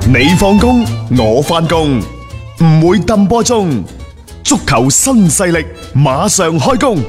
你放工，我翻工，唔會抌波鐘。足球新勢力馬上開工。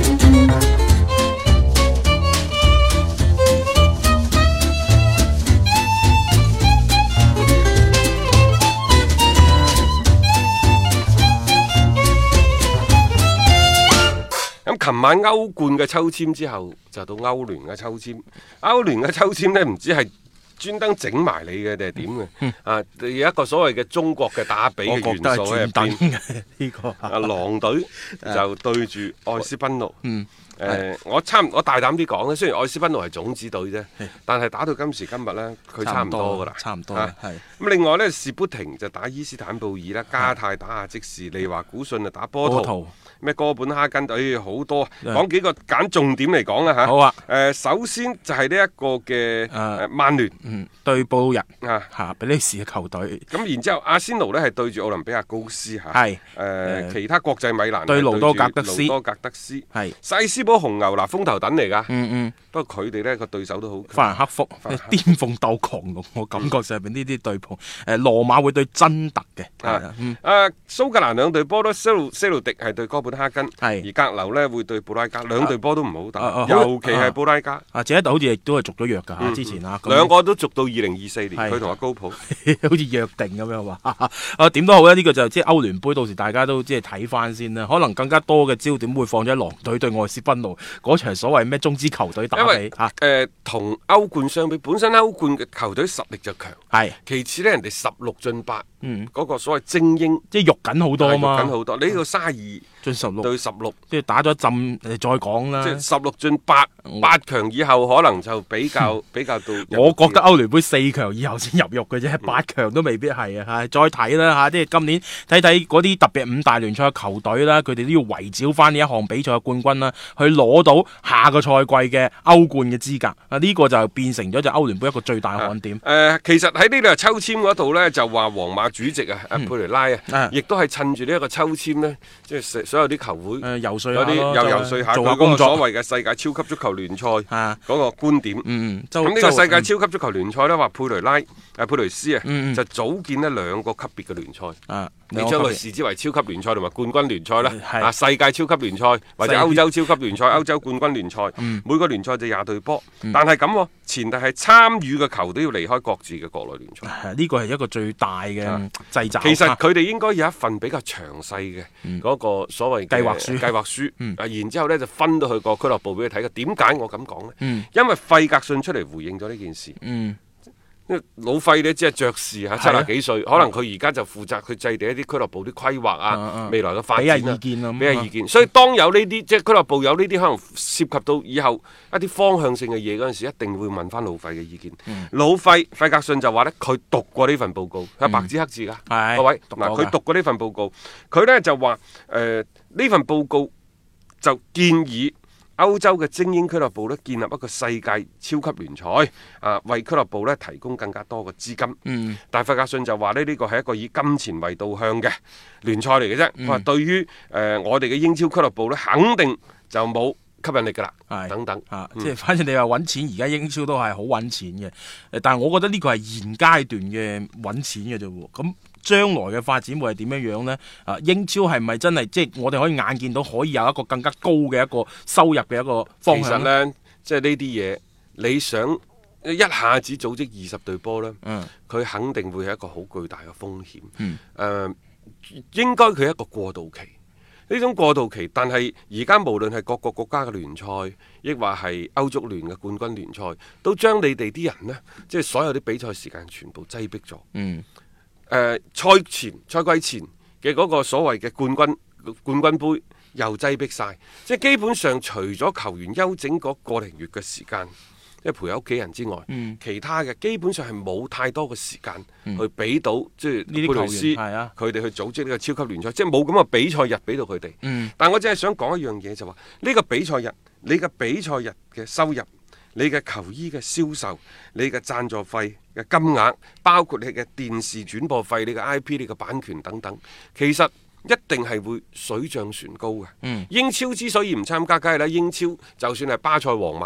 咁琴晚歐冠嘅抽籤之後，就到歐聯嘅抽籤。歐聯嘅抽籤呢，唔知係專登整埋你嘅定係點嘅？啊，有一個所謂嘅中國嘅打比嘅元素喺入邊。 呢個狼隊就對住愛斯賓奴。我大膽啲講咧，雖然愛斯賓奴係種子隊啫，但係打到今時今日呢，佢差唔多噶啦。 差唔多咁另外呢，士砵亭就打伊斯坦布爾啦，加泰打亞積士，利華古遜就打波圖。咩哥本哈根隊好多，講幾個揀重點嚟講啦嚇。 好啊。 首先就係呢一個嘅曼聯對布魯日嚇比利時嘅球隊。 咁然之後，阿仙奴呢係對住奧林比亞高斯嚇。 係其他國際米蘭對盧多格德斯。 係西斯堡紅牛嗱，風頭躉嚟㗎。不過佢哋呢個對手都好。 法蘭克福巔峰鬥狂龍，我感覺上邊呢啲對碰。羅馬會對真特嘅。 蘇格蘭兩隊波都西路迪係對哥本哈根，而格流呢會對布拉加，兩隊波都唔好打，尤其係布拉加。 謝一特好似亦都係續咗約㗎之前兩個都續到2024年，佢同阿高普好似約定咁樣話。點都好咧，呢個就即係歐聯杯，到時大家都即係睇翻先啦。可能更加多嘅焦點會放咗喺狼隊對愛斯賓奴嗰場所謂咩中資球隊打比。 同歐冠相比，本身歐冠嘅球隊實力就強，其次呢，人哋16進8，嗰個所謂精英， 即係肉緊好多嘛， 肉緊好多。你呢個32進16對16， 即係打咗一陣，再講啦。 即係16進8強以後，可能就比較到。 我覺得歐聯杯4強以後先入肉嘅啫，8強都未必係啊。再睇啦嚇，即係今年睇嗰啲特別5大聯賽嘅球隊啦，佢哋都要圍剿翻呢一項比賽嘅冠軍啦，去攞到下個賽季嘅歐冠嘅資格。呢個就變成咗就歐聯杯一個最大看點。 其實喺呢度抽籤嗰度呢，就話皇馬主席佩雷拉亦都係趁住呢一個抽籤呢，即係所有啲球會游說有啲遊說下佢嗰個所謂嘅世界超級足球聯賽嗰個觀點。咁呢個世界超級足球聯賽呢，話佩雷斯就組建呢2個級別嘅聯賽。你將佢視之為超級聯賽同埋冠軍聯賽啦。世界超級聯賽或者歐洲超級聯賽、歐洲冠軍聯賽，每個聯賽就20隊波。但係咁，前提係參與嘅球都要離開各自嘅國內聯賽。 呢個係一個最大嘅掣肘。 其實佢哋應該有一份比較詳細嘅嗰個所謂計劃書。然之後呢就分到去個俱樂部俾佢睇嘅。點解我咁講呢？因為費格遜出嚟回應咗呢件事。老費呢，只係爵士70幾歲，可能佢而家就負責去制定一啲俱樂部啲規劃未來嘅發展俾下意見。所以當有呢啲即係俱樂部有呢啲可能涉及到以後一啲方向性嘅嘢嗰陣時，一定會問翻老費嘅意見。老費格遜就話呢，佢讀過呢份報告，係白紙黑字㗎。各位嗱，佢讀過呢份報告，佢呢就話呢份報告就建議歐洲嘅精英俱樂部咧，建立一個世界超級聯賽，為俱樂部咧提供更加多嘅資金。但係費格遜就話呢個係一個以金錢為導向嘅聯賽嚟嘅啫。佢話對於我哋嘅英超俱樂部咧，肯定就冇吸引力㗎啦。等等即係反正你話揾錢，而家英超都係好揾錢嘅。但係我覺得呢個係現階段嘅揾錢嘅啫喎。咁將來嘅發展會係點樣樣呢？英超係咪真係即係我哋可以眼見到可以有一個更加高嘅一個收入嘅一個方向？ 其實呢，即係呢啲嘢，你想一下子組織20隊波呢，佢肯定會係一個好巨大嘅風險。應該佢係一個過渡期。呢種過渡期，但係而家無論係各個國家嘅聯賽，亦或係歐足聯嘅冠軍聯賽，都將你哋啲人呢，即係所有啲比賽時間全部擠迫咗。賽季前嘅嗰個所謂嘅冠軍杯又擠迫晒，即係基本上除咗球員休整嗰個零月嘅時間，即係陪屋企人之外，其他嘅基本上係冇太多嘅時間去俾到即係呢啲球員佢哋去組織呢個超級聯賽，即係冇咁嘅比賽日俾到佢哋。但我只係想講一樣嘢，就話呢個比賽日，你嘅比賽日嘅收入，你嘅球衣嘅銷售，你嘅贊助費嘅金額，包括你嘅電視轉播費、你嘅 IP、你嘅版權等等，其實一定係會水漲船高嘅。英超之所以唔參加，梗係啦，英超就算係巴塞、皇馬，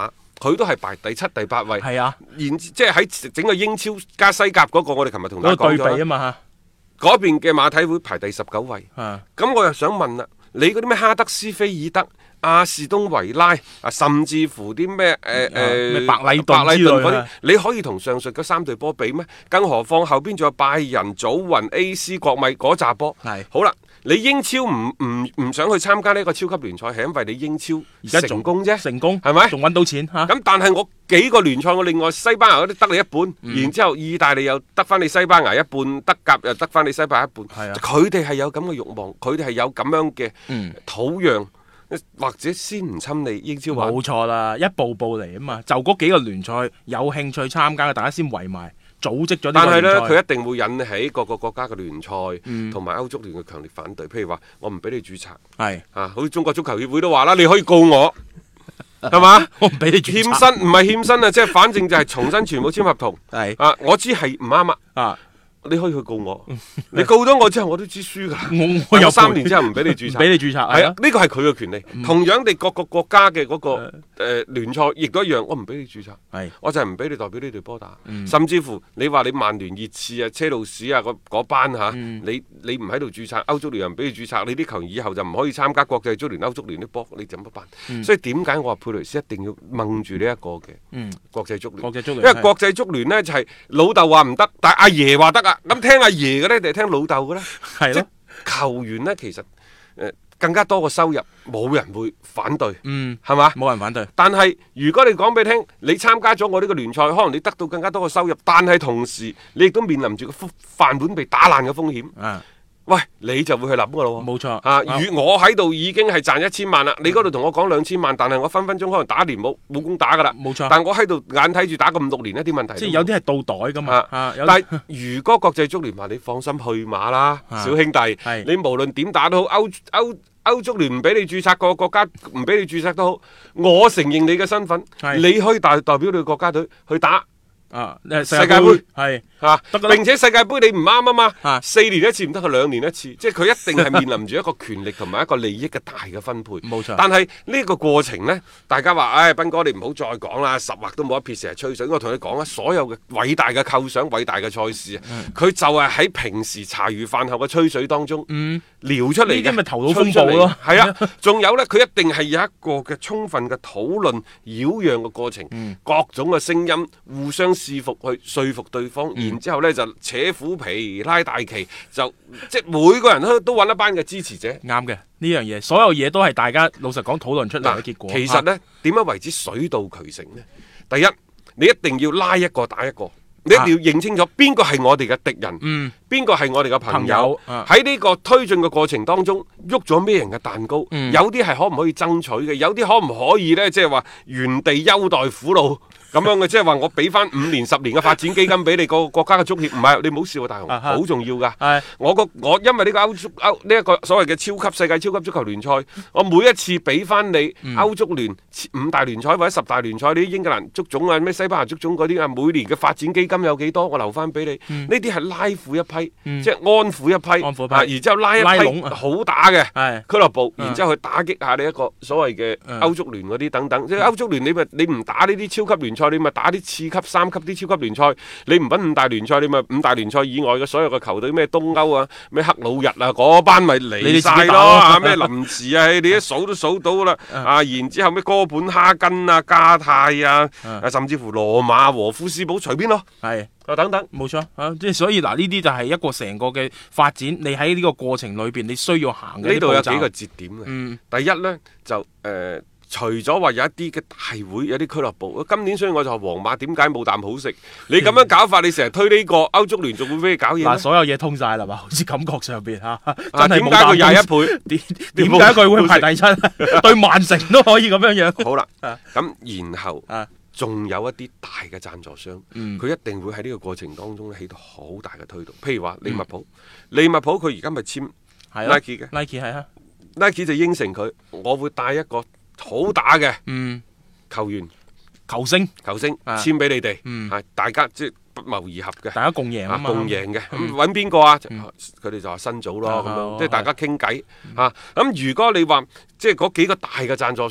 佢都係排第7、第8位。 係啊， 然即係喺整個英超加西甲嗰個，我哋琴日同大家嗰個對講咗比啊嘛嗰邊嘅馬體會排第19位。咁我又想問啦，你嗰啲咩哈德斯菲爾德、阿士東維拉啊，甚至乎啲咩咩白禮頓之類嗰啲，你可以同上述嗰3隊波比咩？更何況後邊仲有拜仁、祖雲、AC、國米嗰扎波。 係好啦，你英超唔想去參加呢個超級聯賽，係因為你英超而家成功啫， 成功係咪？ 仲揾到錢嚇。 咁但係我幾個聯賽，我另外西班牙嗰啲得你一半，然之後意大利又得翻你西班牙一半，德甲又得翻你西班牙一半。佢哋係有咁嘅慾望，佢哋係有咁樣嘅土壤。或者先唔侵你英超玩， 冇錯啦，一步步嚟啊嘛，就嗰幾個聯賽有興趣參加嘅，大家先圍埋組織咗呢個聯賽。 但係呢，佢一定會引起各個國家嘅聯賽同埋歐足聯嘅強烈反對。譬如話，我唔俾你註冊， 係好似中國足球協會都話啦，你可以告我，係嘛？ 我唔俾你註冊， 欠薪唔係欠薪啊，即係反正就係重新全部簽合同。係我知係唔啱啊。你可以去告我，你告咗我之後，我都知輸噶。我有3年之後唔俾你註冊， 俾你註冊係啊， 呢個係佢嘅權利。同樣地，各個國家嘅嗰個聯賽亦都一樣，我唔俾你註冊，我就係唔俾你代表呢隊波打。甚至乎你話你曼聯、熱刺啊、車路士啊嗰班嚇，你唔喺度註冊，歐足聯又唔俾你註冊，你啲球員以後就唔可以參加國際足聯、歐足聯啲波，你怎麼辦？所以點解我話佩雷斯一定要掹住呢一個嘅國際足聯？因為國際足聯呢，就係老豆話唔得，但係阿爺話得啊。咁聽阿爺嘅呢，定係聽老豆嘅呢？ 係咯， 球員呢，其實更加多嘅收入，冇人會反對，係嘛？ 冇人反對。 但係如果你講俾你聽，你參加咗我呢個聯賽，可能你得到更加多嘅收入，但係同時你亦都面臨住個飯碗被打爛嘅風險。喂，你就會去諗噶咯喎， 冇錯我喺度已經係賺1000萬啦，你嗰度同我講2000萬，但係我分分鐘可能打一年冇工打噶啦， 冇錯。 但我喺度眼睇住打咁6年，一啲問題。 即係有啲係到袋噶嘛， 但係如果國際足聯話你放心去馬啦，小兄弟，你無論點打都好，歐足聯唔俾你註冊，個國家唔俾你註冊都好，我承認你嘅身份，你可以代表你嘅國家隊去打。世界盃係並且世界盃你唔啱啊嘛，4年一次唔得，佢2年一次，即係佢一定係面臨住一個權力同埋一個利益嘅大嘅分配。冇錯。但係呢個過程呢，大家話，唉，斌哥你唔好再講啦，十劃都冇一撇，成日吹水。我同你講啦，所有嘅偉大嘅構想、偉大嘅賽事佢就係喺平時茶餘飯後嘅吹水當中聊出嚟嘅。呢啲咪頭腦風暴咯。係啊，仲有呢，佢一定係有一個嘅充分嘅討論、擾攘嘅過程，各種嘅聲音互相試服去說服對方，然之後呢就扯虎皮拉大旗，就即係每個人都揾一班嘅支持者。 啱嘅，呢樣嘢，所有嘢都係大家老實講討論出嚟嘅結果。 其實呢，點樣為之水到渠成呢？第一，你一定要拉一個打一個，你一定要認清楚邊個係我哋嘅敵人，邊個係我哋嘅朋友。喺呢個推進嘅過程當中，喐咗咩人嘅蛋糕？有啲係可唔可以爭取嘅？有啲可唔可以呢？即係話原地優待苦老。咁樣嘅，即係話我俾翻5年10年嘅發展基金俾你個國家嘅足協，唔係你唔好笑啊，大雄，好重要噶。我因為呢個呢一個所謂嘅世界超級足球聯賽，我每一次俾翻你歐足聯5大聯賽或者10大聯賽，你英格蘭足總啊、咩西班牙足總嗰啲啊，每年嘅發展基金有幾多，我留翻俾你。呢啲係拉闊一批，即係安撫一批，然之後拉一批好打嘅俱樂部，然之後去打擊下你一個所謂嘅歐足聯嗰啲等等。即係歐足聯你唔打呢啲超級聯賽。你咪打啲次級、3級啲超級聯賽，你唔揾5大聯賽，你咪5大聯賽以外嘅所有嘅球隊，咩東歐啊、咩克魯日啊嗰班咪嚟晒咯，咩林茨啊，你一數都數到啦。然之後咩哥本哈根啊、加泰啊，甚至乎羅馬和夫斯堡，隨便咯，係等等， 冇錯即係所以嗱，呢啲就係一個成個嘅發展。你喺呢個過程裏邊，你需要行嘅呢度有幾個節點嘅。第一呢，就除咗話有一啲嘅大會，有啲俱樂部，今年所以我就話皇馬點解冇啖好食？你咁樣搞法，你成日推呢個歐足聯，仲會俾你搞嘢咩？ 所有嘢通晒啦嘛，好似感覺上邊真係點解佢21倍？ 點解佢會排第7？對曼城都可以咁樣樣。 好啦，咁然後仲有一啲大嘅贊助商，佢一定會喺呢個過程當中起到好大嘅推動。譬如話利物浦，利物浦佢而家咪簽 Nike 嘅 ，Nike 係啊 ，Nike 就應承佢，我會帶一個好打嘅球員、 球星簽俾你哋，大家即係不謀而合嘅， 大家共贏啊嘛， 共贏嘅。咁揾邊個啊？佢哋就話新組咯，咁樣即係大家傾偈嚇。咁如果你話即係嗰幾個大嘅贊助商，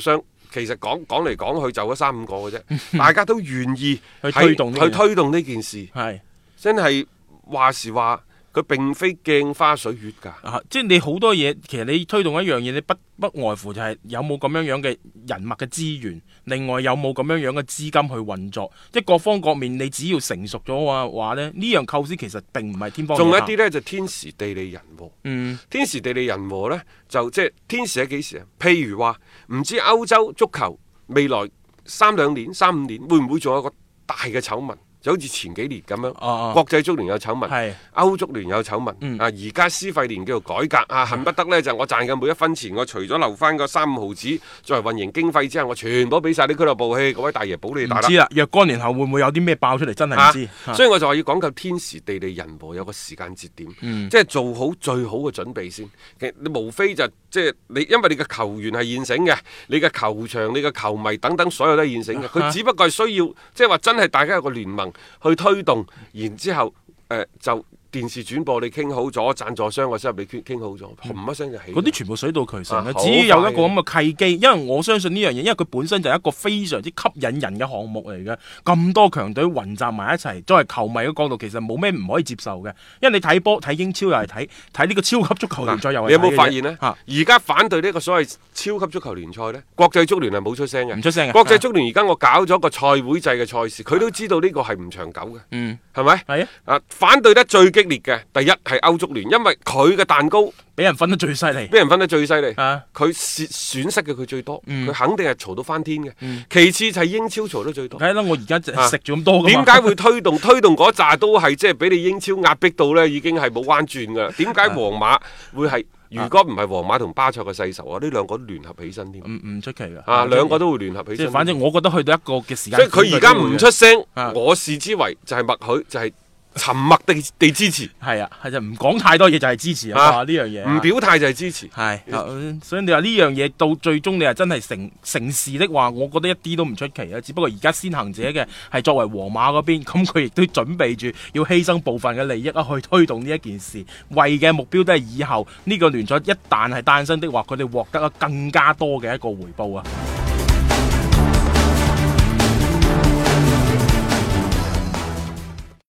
其實講嚟講去就嗰3-5個嘅啫，大家都願意去推動呢件事， 係真係話時話。佢並非鏡花水月㗎， 即係你好多嘢，其實你推動一樣嘢，你不外乎就係有冇咁樣嘅人脈嘅資源，另外有冇咁樣嘅資金去運作，即係各方各面，你只要成熟咗嘅話咧，呢樣構思其實並唔係天方夜譚。 仲有一啲呢，就天時地利人和，天時地利人和呢，就即係天時喺幾時啊？譬如話唔知歐洲足球未來3-5年會唔會仲有一個大嘅醜聞？就好似前幾年咁樣，國際足聯有醜聞，歐足聯有醜聞，而家施費年叫做改革啊，恨不得呢，就我賺嘅每一分錢，我除咗留翻個3-5毫子作為運營經費之後，我全部俾晒啲俱樂部去，各位大爺保你大啦。唔知啦， 若干年後會唔會有啲咩爆出嚟，真係唔知。 所以我就話要講究天時地利人和，有個時間節點，即係做好最好嘅準備先。其實你無非就即係你，因為你嘅球員係現成嘅，你嘅球場、你嘅球迷等等，所有都係現成嘅。佢只不過係需要，即係話真係大家有個聯盟去推動，然之後就電視轉播你傾好咗，贊助商嘅收入你傾好咗，轟一聲就起。 嗰啲全部水到渠成嘅，只要有一個咁嘅契機，因為我相信呢樣嘢，因為佢本身就係一個非常之吸引人嘅項目嚟嘅。咁多強隊混集埋一齊，作為球迷嘅角度，其實冇咩唔可以接受嘅。因為你睇波睇英超又係睇呢個超級足球聯賽又係睇嘅。 你有冇發現呢？而家反對呢個所謂超級足球聯賽呢，國際足聯係冇出聲嘅， 唔出聲嘅。 國際足聯而家我搞咗個賽會制嘅賽事，佢都知道呢個係唔長久嘅，係咪？ 係啊。 反對得最激烈嘅，第一係歐足聯，因為佢嘅蛋糕俾人分得最犀利，佢損失嘅佢最多，佢肯定係嘈到翻天嘅。其次就係英超嘈得最多。 係啦，我而家食咗咁多㗎嘛。 點解會推動嗰扎都係即係俾你英超壓迫到呢？已經係冇彎轉㗎。點解皇馬會係？如果唔係皇馬同巴塞嘅世仇啊，呢兩個都聯合起身添。 唔出奇㗎。 兩個都會聯合起身。 反正我覺得去到一個嘅時間。 即係佢而家唔出聲，我視之為就係默許，就係沉默地支持。 係啊，係就唔講太多嘢就係支持啊！呢樣嘢唔表態就係支持。 係，所以你話呢樣嘢到最終你係真係成事的話，我覺得一啲都唔出奇啊！只不過而家先行者嘅係作為皇馬嗰邊，咁佢亦都準備住要犧牲部分嘅利益啊，去推動呢一件事，為嘅目標都係以後呢個聯賽一旦係誕生的話，佢哋獲得更加多嘅一個回報啊！